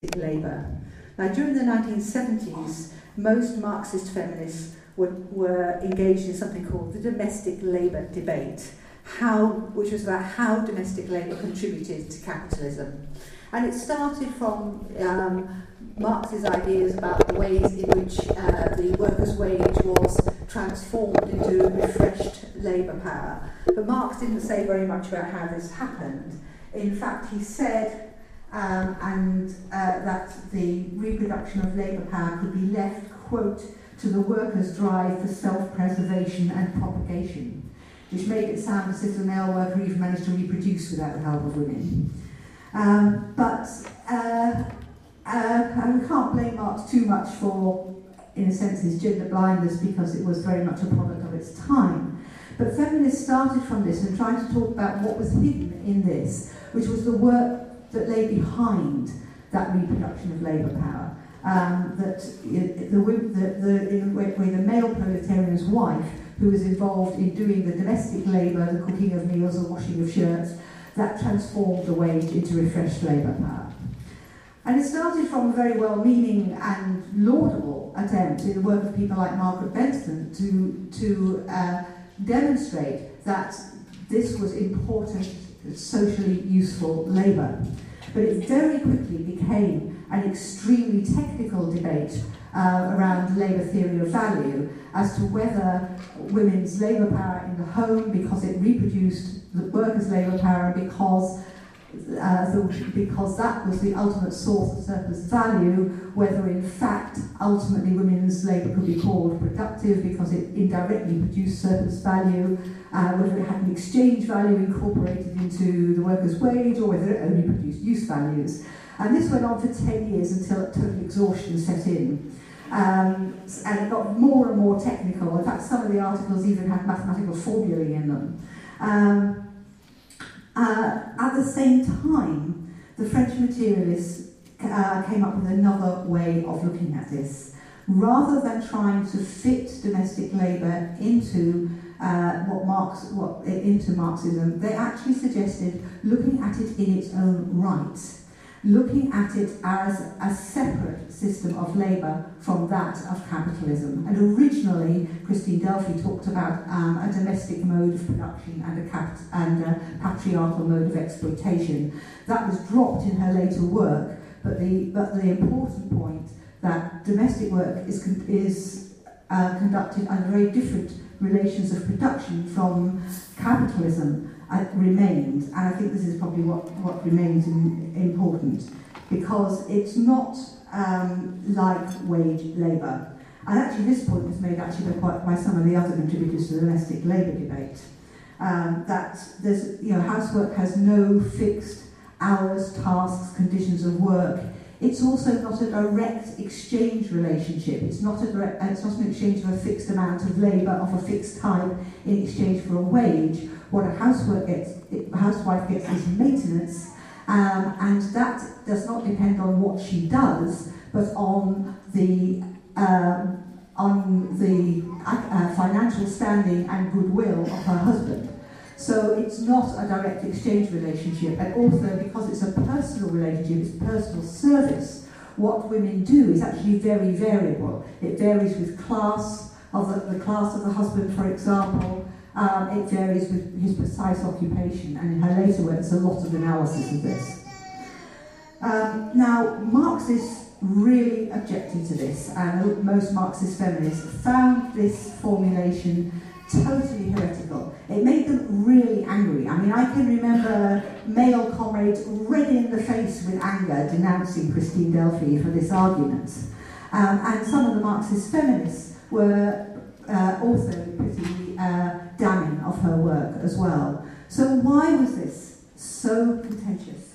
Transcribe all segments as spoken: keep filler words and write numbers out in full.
labour. Now, during the nineteen seventies, most Marxist feminists were, were engaged in something called the domestic labour debate, how, which was about how domestic labour contributed to capitalism. And it started from um, Marx's ideas about the ways in which uh, the workers' wage was transformed into refreshed labour power. But Marx didn't say very much about how this happened. In fact, he said um, and uh, that the reproduction of labour power could be left, quote, to the workers' drive for self-preservation and propagation, which made it sound as if the male worker even managed to reproduce without the help of women. Um, but uh, uh, and we can't blame Marx too much for, in a sense, his gender blindness, because it was very much a product of its time. But feminists started from this and tried to talk about what was hidden in this, which was the work that lay behind that reproduction of labour power. Um, that the, the, the, in a way, the male proletarian's wife, who was involved in doing the domestic labour, the cooking of meals, the washing of shirts, that transformed the wage into refreshed labour power. And it started from a very well-meaning and laudable attempt in the work of people like Margaret Bentham to, to uh, demonstrate that this was important, socially useful labour. But it very quickly became an extremely technical debate uh, around labour theory of value as to whether women's labour power in the home, because it reproduced the workers' labour power, because uh, the, because that was the ultimate source of surplus value, whether in fact ultimately women's labour could be called productive because it indirectly produced surplus value, uh, whether it had an exchange value incorporated into the workers' wage, or whether it only produced use values. And this went on for ten years until total exhaustion set in. Um, and it got more and more technical. In fact, some of the articles even had mathematical formulae in them. Um, uh, at the same time, the French materialists uh, came up with another way of looking at this. Rather than trying to fit domestic labour into uh, what Marx, what into Marxism, they actually suggested looking at it in its own right, looking at it as a separate system of labour from that of capitalism. And originally, Christine Delphi talked about um, a domestic mode of production and a, cap and a patriarchal mode of exploitation. That was dropped in her later work, but the, but the important point that domestic work is, con is uh, conducted under very different relations of production from capitalism Uh, remained, and I think this is probably what, what remains in, important, because it's not um, like wage labour. And actually this point was made actually by, quite, by some of the other contributors to the domestic labour debate, um, that there's, you know, housework has no fixed hours, tasks, conditions of work. It's also not a direct exchange relationship. It's not, a direct, it's not an exchange of a fixed amount of labour of a fixed time in exchange for a wage. What a housework gets, a housewife gets is maintenance, um, and that does not depend on what she does, but on the um, on the uh, financial standing and goodwill of her husband. So it's not a direct exchange relationship, and also because it's a personal relationship, it's personal service, what women do is actually very variable. It varies with class, of the, the class of the husband, for example. Um, it varies with his precise occupation, and in her later work there's a lot of analysis of this. Um, now, Marxists really objected to this, and most Marxist feminists found this formulation totally heretical. It made them really angry. I mean, I can remember male comrades red in the face with anger denouncing Christine Delphi for this argument. Um, and some of the Marxist feminists were uh, also pretty uh, damning of her work as well. So why was this so contentious?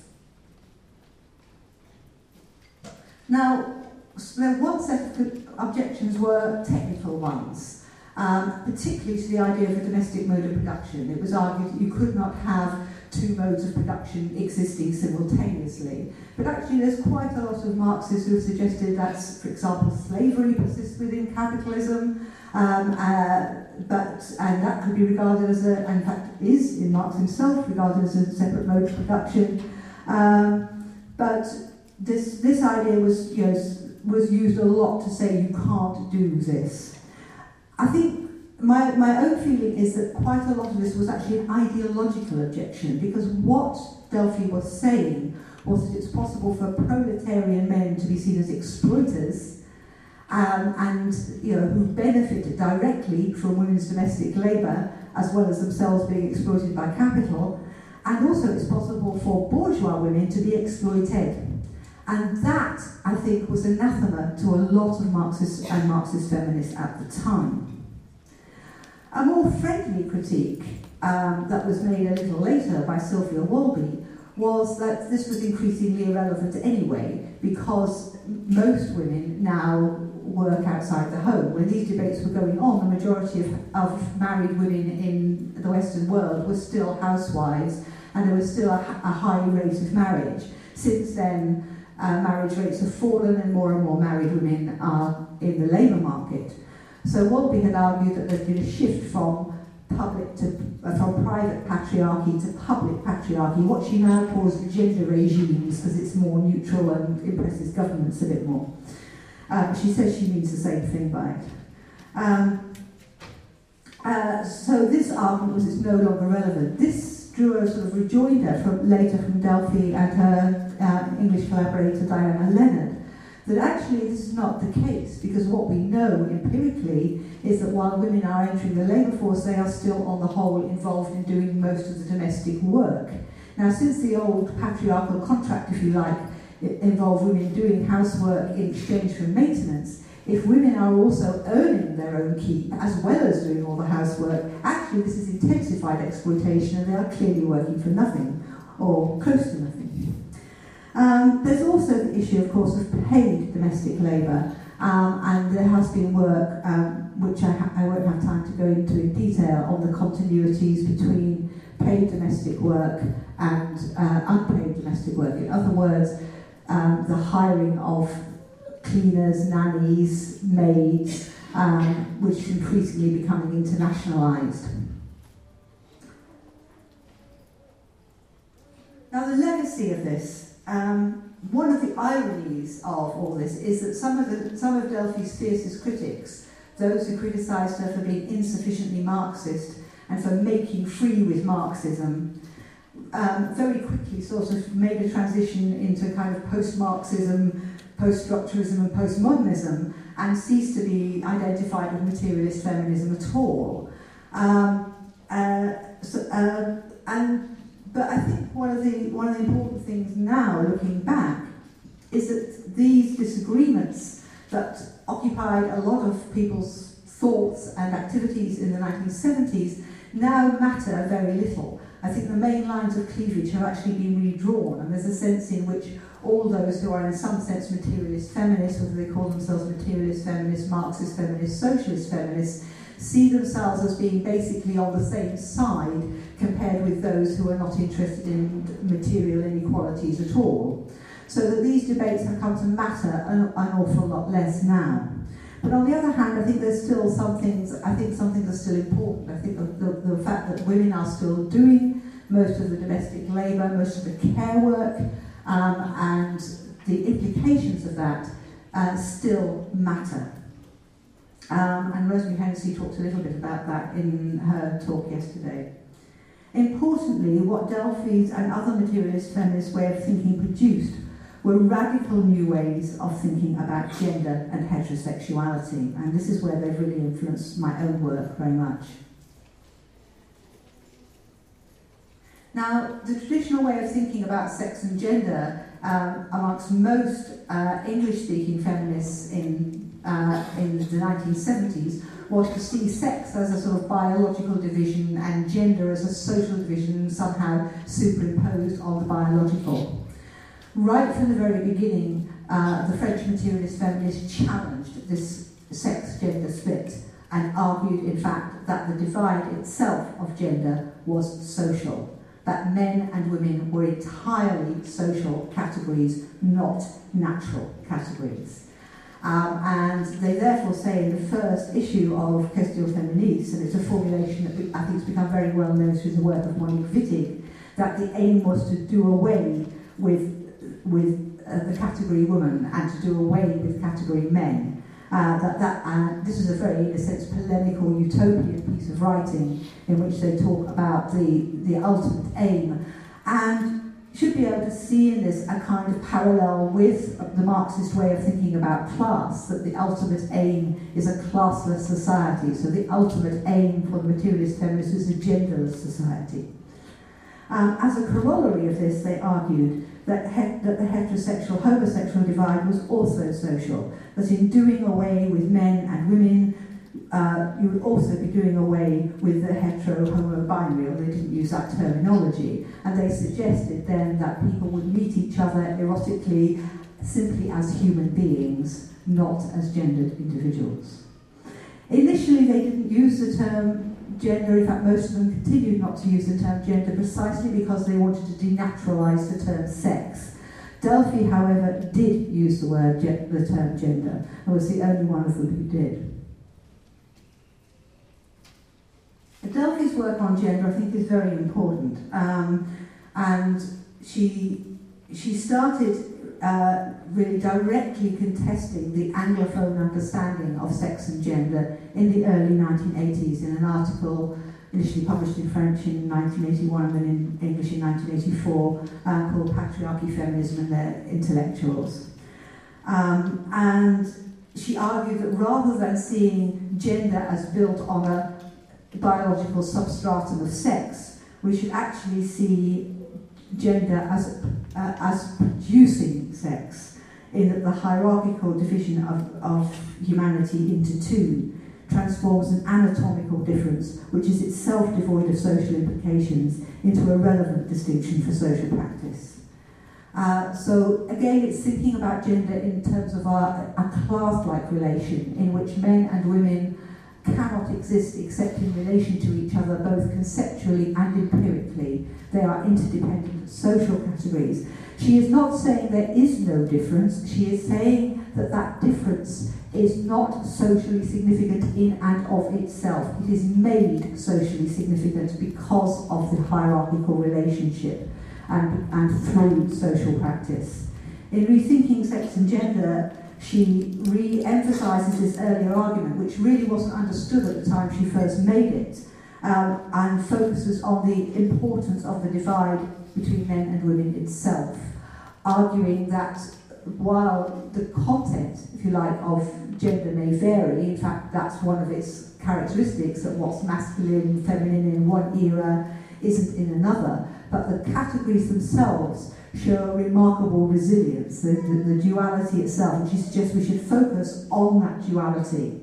Now, one set of objections were technical ones. Um, particularly to the idea of a domestic mode of production. It was argued that you could not have two modes of production existing simultaneously. But actually there's quite a lot of Marxists who have suggested that, for example, slavery persists within capitalism, um, uh, but, and that could be regarded as a, and in fact is in Marx himself, regarded as a separate mode of production. Um, but this, this idea was, you know, was used a lot to say you can't do this. I think my, my own feeling is that quite a lot of this was actually an ideological objection, because what Delphi was saying was that it's possible for proletarian men to be seen as exploiters um, and, you know, who benefit directly from women's domestic labour as well as themselves being exploited by capital, and also it's possible for bourgeois women to be exploited. And that, I think, was anathema to a lot of Marxists and Marxist feminists at the time. A more friendly critique um, that was made a little later by Sylvia Walby was that this was increasingly irrelevant anyway, because most women now work outside the home. When these debates were going on, the majority of, of married women in the Western world were still housewives, and there was still a, a high rate of marriage. Since then, uh, marriage rates have fallen and more and more married women are in the labour market. So Walby had argued that there's been a shift from public to uh, from private patriarchy to public patriarchy, what she now calls gender regimes, because it's more neutral and impresses governments a bit more. Um, she says she means the same thing by it. Um, uh, so this argument was it's no longer relevant. This drew a sort of rejoinder from later from Delphi and her uh, English collaborator Diana Leonard, that actually this is not the case, because what we know empirically is that while women are entering the labour force, they are still on the whole involved in doing most of the domestic work. Now, since the old patriarchal contract, if you like, it involved women doing housework in exchange for maintenance, if women are also earning their own keep as well as doing all the housework, actually this is intensified exploitation, and they are clearly working for nothing, or close to nothing. Um, there's also the issue, of course, of paid domestic labour, um, and there has been work, um, which I, ha I won't have time to go into in detail, on the continuities between paid domestic work and uh, unpaid domestic work. In other words, um, the hiring of cleaners, nannies, maids, um, which is increasingly becoming internationalised. Now, the legacy of this, um, one of the ironies of all this is that some of, the, some of Delphi's fiercest critics, those who criticised her for being insufficiently Marxist and for making free with Marxism, um, very quickly sort of made a transition into kind of post-Marxism, post-structuralism and postmodernism, and ceased to be identified with materialist feminism at all. Um, uh, so, uh, and But I think one of the one of the important things now, looking back, is that these disagreements that occupied a lot of people's thoughts and activities in the nineteen seventies now matter very little. I think the main lines of cleavage have actually been redrawn, and there's a sense in which all those who are in some sense materialist feminists, whether they call themselves materialist feminists, Marxist feminists, socialist feminists, see themselves as being basically on the same side compared with those who are not interested in material inequalities at all. So that these debates have come to matter an, an awful lot less now. But on the other hand, I think there's still some things, I think some things are still important. I think the, the, the fact that women are still doing most of the domestic labour, most of the care work, um, and the implications of that uh, still matter. Um, and Rosemary Hennessy talked a little bit about that in her talk yesterday. Importantly, what Delphi's and other materialist feminist way of thinking produced were radical new ways of thinking about gender and heterosexuality, and this is where they've really influenced my own work very much. Now, the traditional way of thinking about sex and gender um, amongst most uh, English-speaking feminists in Uh, in the nineteen seventies was to see sex as a sort of biological division and gender as a social division somehow superimposed on the biological. Right from the very beginning, uh, the French materialist feminists challenged this sex-gender split and argued, in fact, that the divide itself of gender was social, that men and women were entirely social categories, not natural categories. Um, and they therefore say in the first issue of Questions Féministes, and it's a formulation that I think has become very well known through the work of Monique Wittig, that the aim was to do away with, with uh, the category woman and to do away with category men. Uh, that, that, uh, this is a very, in a sense, polemical, utopian piece of writing in which they talk about the, the ultimate aim. And should be able to see in this a kind of parallel with the Marxist way of thinking about class, that the ultimate aim is a classless society. So the ultimate aim for the materialist feminists is a genderless society. Um, as a corollary of this, they argued that, he that the heterosexual-homosexual divide was also social, that in doing away with men and women, uh, you would also be doing away with the hetero-homo-binary, although they didn't use that terminology. And they suggested then that people would meet each other erotically simply as human beings, not as gendered individuals. Initially, they didn't use the term gender. In fact, most of them continued not to use the term gender precisely because they wanted to denaturalise the term sex. Delphi, however, did use the word the term gender, and was the only one of them who did. Delphi's work on gender, I think, is very important, um, and she she started uh, really directly contesting the Anglophone understanding of sex and gender in the early nineteen eighties in an article initially published in French in nineteen eighty-one and then in English in nineteen eighty-four uh, called Patriarchy, Feminism and Their Intellectuals. Um, and she argued that rather than seeing gender as built on a biological substratum of sex, we should actually see gender as, uh, as producing sex, in that the hierarchical division of, of humanity into two transforms an anatomical difference, which is itself devoid of social implications, into a relevant distinction for social practice. Uh, so again, it's thinking about gender in terms of our, a class-like relation in which men and women cannot exist except in relation to each other, both conceptually and empirically. They are interdependent social categories. She is not saying there is no difference. She is saying that that difference is not socially significant in and of itself. It is made socially significant because of the hierarchical relationship and, and through social practice. In Rethinking Sex and Gender, she re-emphasises this earlier argument, which really wasn't understood at the time she first made it, um, and focuses on the importance of the divide between men and women itself, arguing that while the content, if you like, of gender may vary, in fact that's one of its characteristics, that what's masculine, feminine in one era isn't in another, but the categories themselves show a remarkable resilience, the, the, the duality itself, and she suggests we should focus on that duality.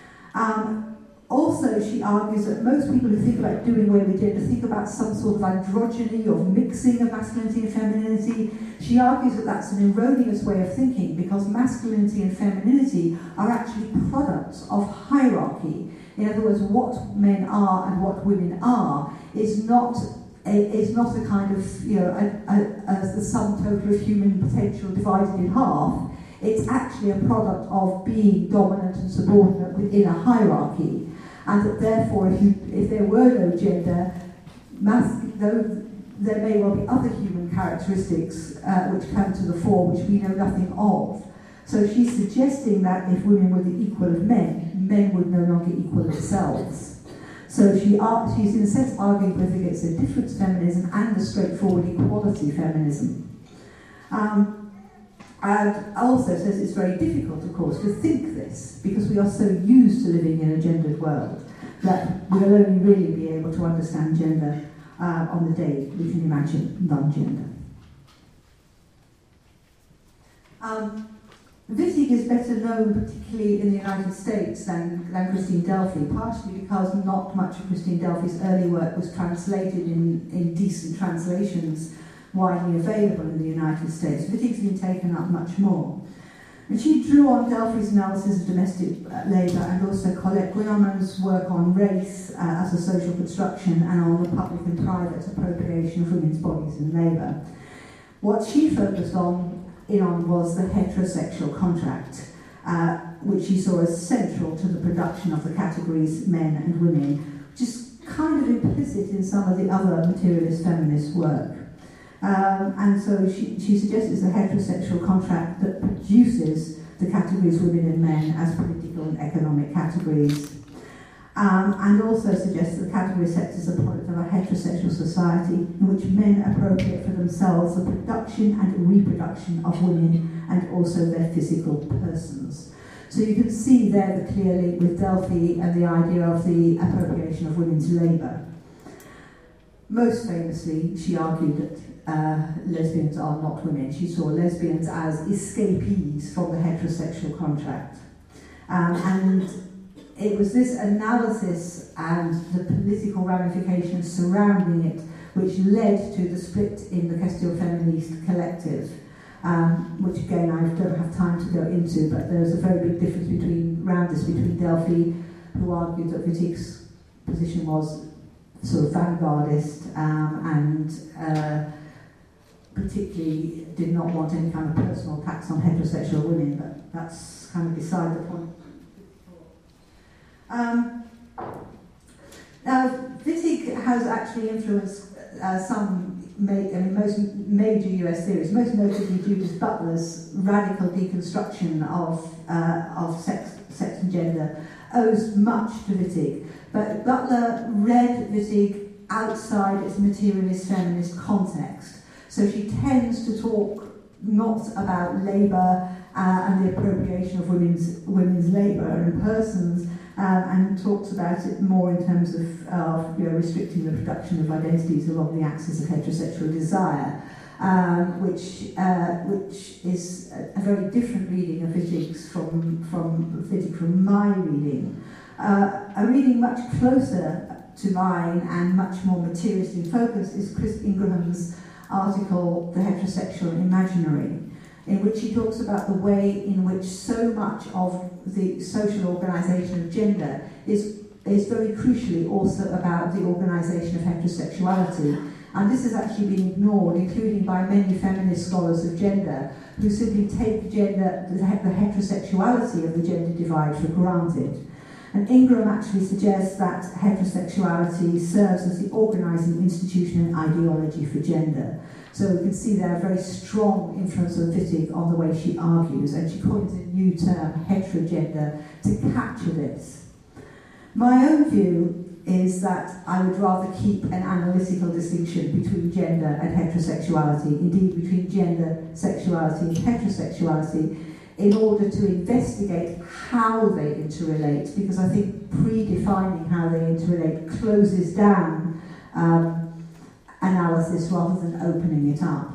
Um, also, she argues that most people who think about doing away with gender think about some sort of androgyny or mixing of masculinity and femininity. She argues that that's an erroneous way of thinking because masculinity and femininity are actually products of hierarchy. In other words, what men are and what women are is not It's not a kind of, you know, a, a, a, the sum total of human potential divided in half. It's actually a product of being dominant and subordinate within a hierarchy, and that therefore, if, you, if there were no gender, mas though there may well be other human characteristics uh, which come to the fore, which we know nothing of. So she's suggesting that if women were the equal of men, men would no longer equal themselves. So she are, she's in a sense arguing both against a difference feminism and a straightforward equality feminism. Um, and also says it's very difficult, of course, to think this because we are so used to living in a gendered world that we'll only really be able to understand gender uh, on the day we can imagine non-gender. Um, Wittig is better known, particularly in the United States, than, than Christine Delphi, partially because not much of Christine Delphi's early work was translated in, in decent translations widely available in the United States. Wittig's been taken up much more. And she drew on Delphi's analysis of domestic labour and also Colette Guillermo's work on race uh, as a social construction and on the public and private appropriation of women's bodies and labour. What she focused on in on was the heterosexual contract, uh, which she saw as central to the production of the categories men and women, which is kind of implicit in some of the other materialist feminist work. Um, and so she, she suggests it's a heterosexual contract that produces the categories women and men as political and economic categories. Um, and also suggests that the category sets as a product of a heterosexual society in which men appropriate for themselves the production and reproduction of women and also their physical persons. So you can see there the clear link with Delphi and the idea of the appropriation of women's labour. Most famously, she argued that uh, lesbians are not women. She saw lesbians as escapees from the heterosexual contract. Um, and it was this analysis and the political ramifications surrounding it which led to the split in the Question Feministe collective, um, which again I don't have time to go into, but there's a very big difference between around this between Delphi, who argued that Wittig's position was sort of vanguardist um, and uh, particularly did not want any kind of personal attacks on heterosexual women, but that's kind of beside the point. Um, now, Wittig has actually influenced uh, some, ma- I mean, most major U S theories, most notably Judith Butler's radical deconstruction of uh, of sex, sex and gender, owes much to Wittig. But Butler read Wittig outside its materialist feminist context, so she tends to talk not about labour uh, and the appropriation of women's women's labour and persons. Um, and talks about it more in terms of uh, you know, restricting the production of identities along the axis of heterosexual desire, um, which uh, which is a, a very different reading of Wittig's from from Wittig from my reading. Uh, a reading much closer to mine and much more materialist in focus is Chris Ingram's article, The Heterosexual Imaginary, in which he talks about the way in which so much of the social organisation of gender is, is very crucially also about the organisation of heterosexuality. And this has actually been ignored, including by many feminist scholars of gender, who simply take gender, the, the heterosexuality of the gender divide for granted. And Ingram actually suggests that heterosexuality serves as the organising institution and ideology for gender. So we can see there a very strong influence of Wittig on the way she argues, and she coins a new term, heterogender, to capture this. My own view is that I would rather keep an analytical distinction between gender and heterosexuality, indeed between gender, sexuality and heterosexuality, in order to investigate how they interrelate, because I think predefining how they interrelate closes down um, analysis rather than opening it up.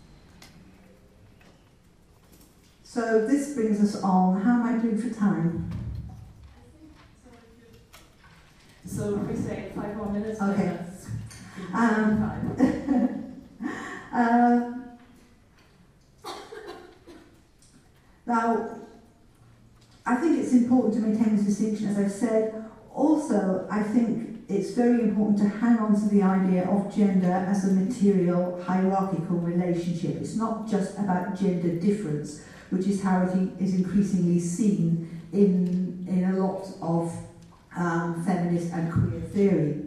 So this brings us on. How am I doing for time? So if we say five more minutes, okay. Um, uh, now, I think it's important to maintain this distinction, as I've said. Also, I think it's very important to hang on to the idea of gender as a material hierarchical relationship. It's not just about gender difference, which is how it is increasingly seen in, in a lot of um, feminist and queer theory.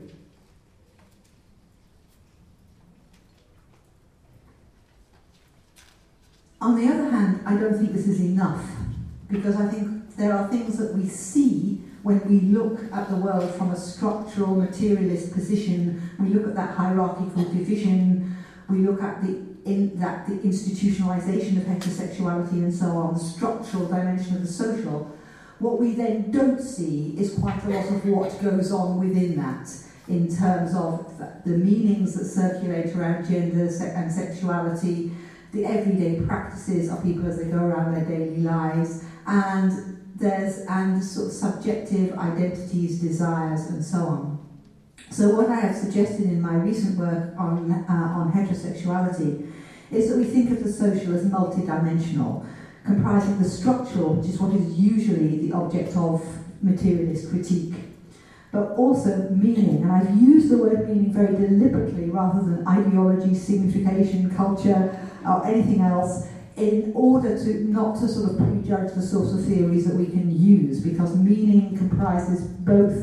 On the other hand, I don't think this is enough, because I think there are things that we see when we look at the world from a structural materialist position. We look at that hierarchical division, we look at the in that the institutionalization of heterosexuality and so on, the structural dimension of the social. What we then don't see is quite a lot of what goes on within that, in terms of the meanings that circulate around gender and sexuality, the everyday practices of people as they go around their daily lives, and there's and sort of subjective identities, desires, and so on. So what I have suggested in my recent work on uh, on heterosexuality is that we think of the social as multidimensional, comprising the structural, which is what is usually the object of materialist critique, but also meaning. And I've used the word meaning very deliberately rather than ideology, signification, culture, or anything else, in order to not to sort of prejudge the sorts of theories that we can use, because meaning comprises both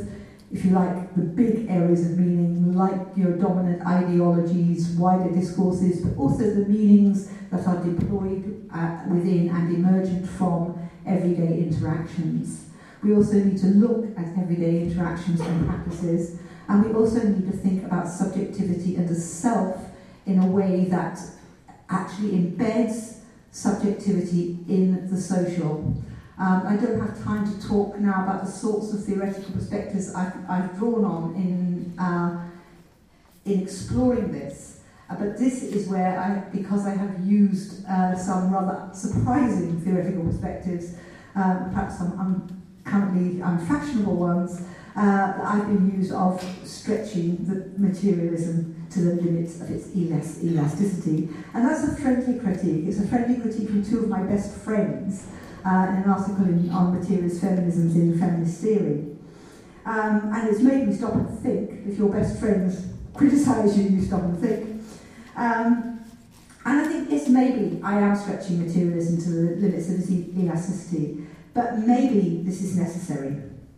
if you like, the big areas of meaning, like your dominant ideologies, wider discourses, but also the meanings that are deployed uh, within and emergent from everyday interactions. We also need to look at everyday interactions and practices, and we also need to think about subjectivity and the self in a way that actually embeds subjectivity in the social. Um, I don't have time to talk now about the sorts of theoretical perspectives I've, I've drawn on in, uh, in exploring this, uh, but this is where, I, because I have used uh, some rather surprising theoretical perspectives, uh, perhaps some un- currently unfashionable ones, uh, that I've been used of stretching the materialism to the limits of its elas- elasticity. And that's a friendly critique. It's a friendly critique from two of my best friends, Uh, in an article in, on materialist feminisms in Feminist Theory. Um, and it's made me stop and think. If your best friends criticise you, you stop and think. Um, and I think, yes, maybe I am stretching materialism to the limits of its elasticity, but maybe this is necessary.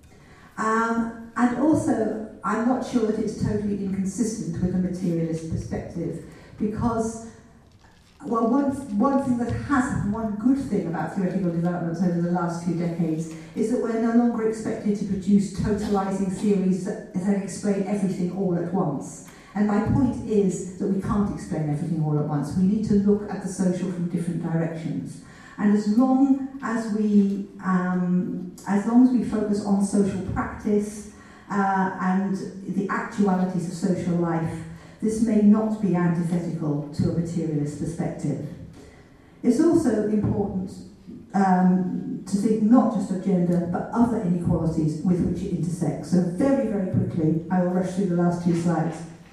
Um, and also, I'm not sure that it's totally inconsistent with a materialist perspective, because Well, one, one thing that has happened, one good thing about theoretical developments over the last few decades is that we're no longer expected to produce totalising theories that, that explain everything all at once. And my point is that we can't explain everything all at once. We need to look at the social from different directions. And as long as we, um, as long as we focus on social practice uh, and the actualities of social life, this may not be antithetical to a materialist perspective. It's also important um, to think not just of gender, but other inequalities with which it intersects. So very, very quickly, I will rush through the last two slides.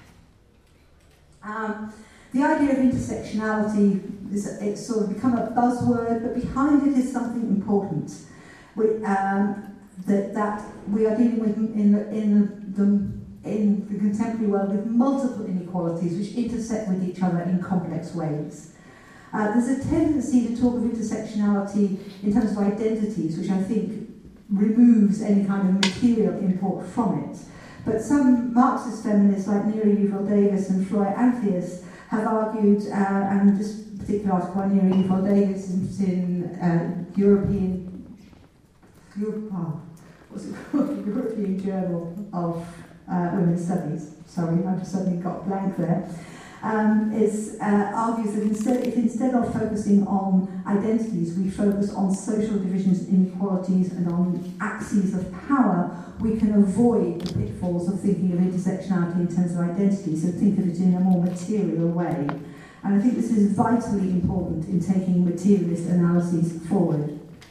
Um, the idea of intersectionality, is, it's sort of become a buzzword, but behind it is something important. We, um, that, that we are dealing with in the, in the in the contemporary world with multiple inequalities which intersect with each other in complex ways. Uh, there's a tendency to talk of intersectionality in terms of identities, which I think removes any kind of material import from it. But some Marxist feminists like Neri Yuval Davis and Flora Anthias have argued, uh, and this particular article by Neri Yuval Davis is in uh, European, Europe, oh, what's it called? European Journal of Uh, Women's Studies, sorry, I just suddenly got blank there, um, is, uh, argues that instead, if instead of focusing on identities, we focus on social divisions and inequalities and on axes of power, we can avoid the pitfalls of thinking of intersectionality in terms of identities and think of it in a more material way. And I think this is vitally important in taking materialist analyses forward.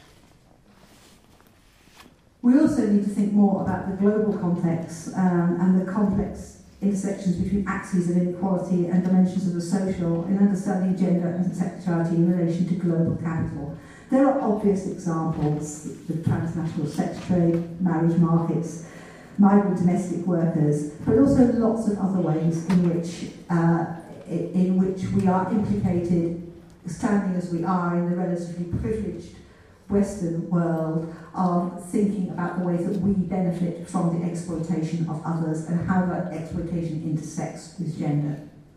We also need to think more about the global context um, and the complex intersections between axes of inequality and dimensions of the social in understanding gender and sexuality in relation to global capital. There are obvious examples: the transnational sex trade, marriage markets, migrant domestic workers, but also lots of other ways in which, uh, in which we are implicated, standing as we are in the relatively privileged Western world, of thinking about the ways that we benefit from the exploitation of others and how that exploitation intersects with gender.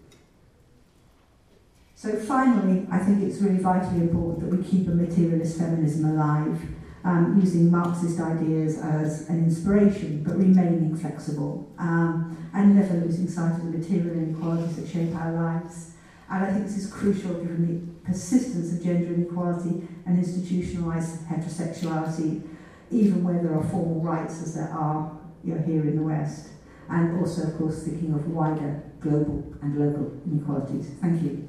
So finally, I think it's really vitally important that we keep a materialist feminism alive, um, using Marxist ideas as an inspiration, but remaining flexible, um, and never losing sight of the material inequalities that shape our lives. And I think this is crucial given the persistence of gender inequality and institutionalised heterosexuality, even where there are formal rights as there are, you know, here in the West. And also, of course, thinking of wider global and local inequalities. Thank you.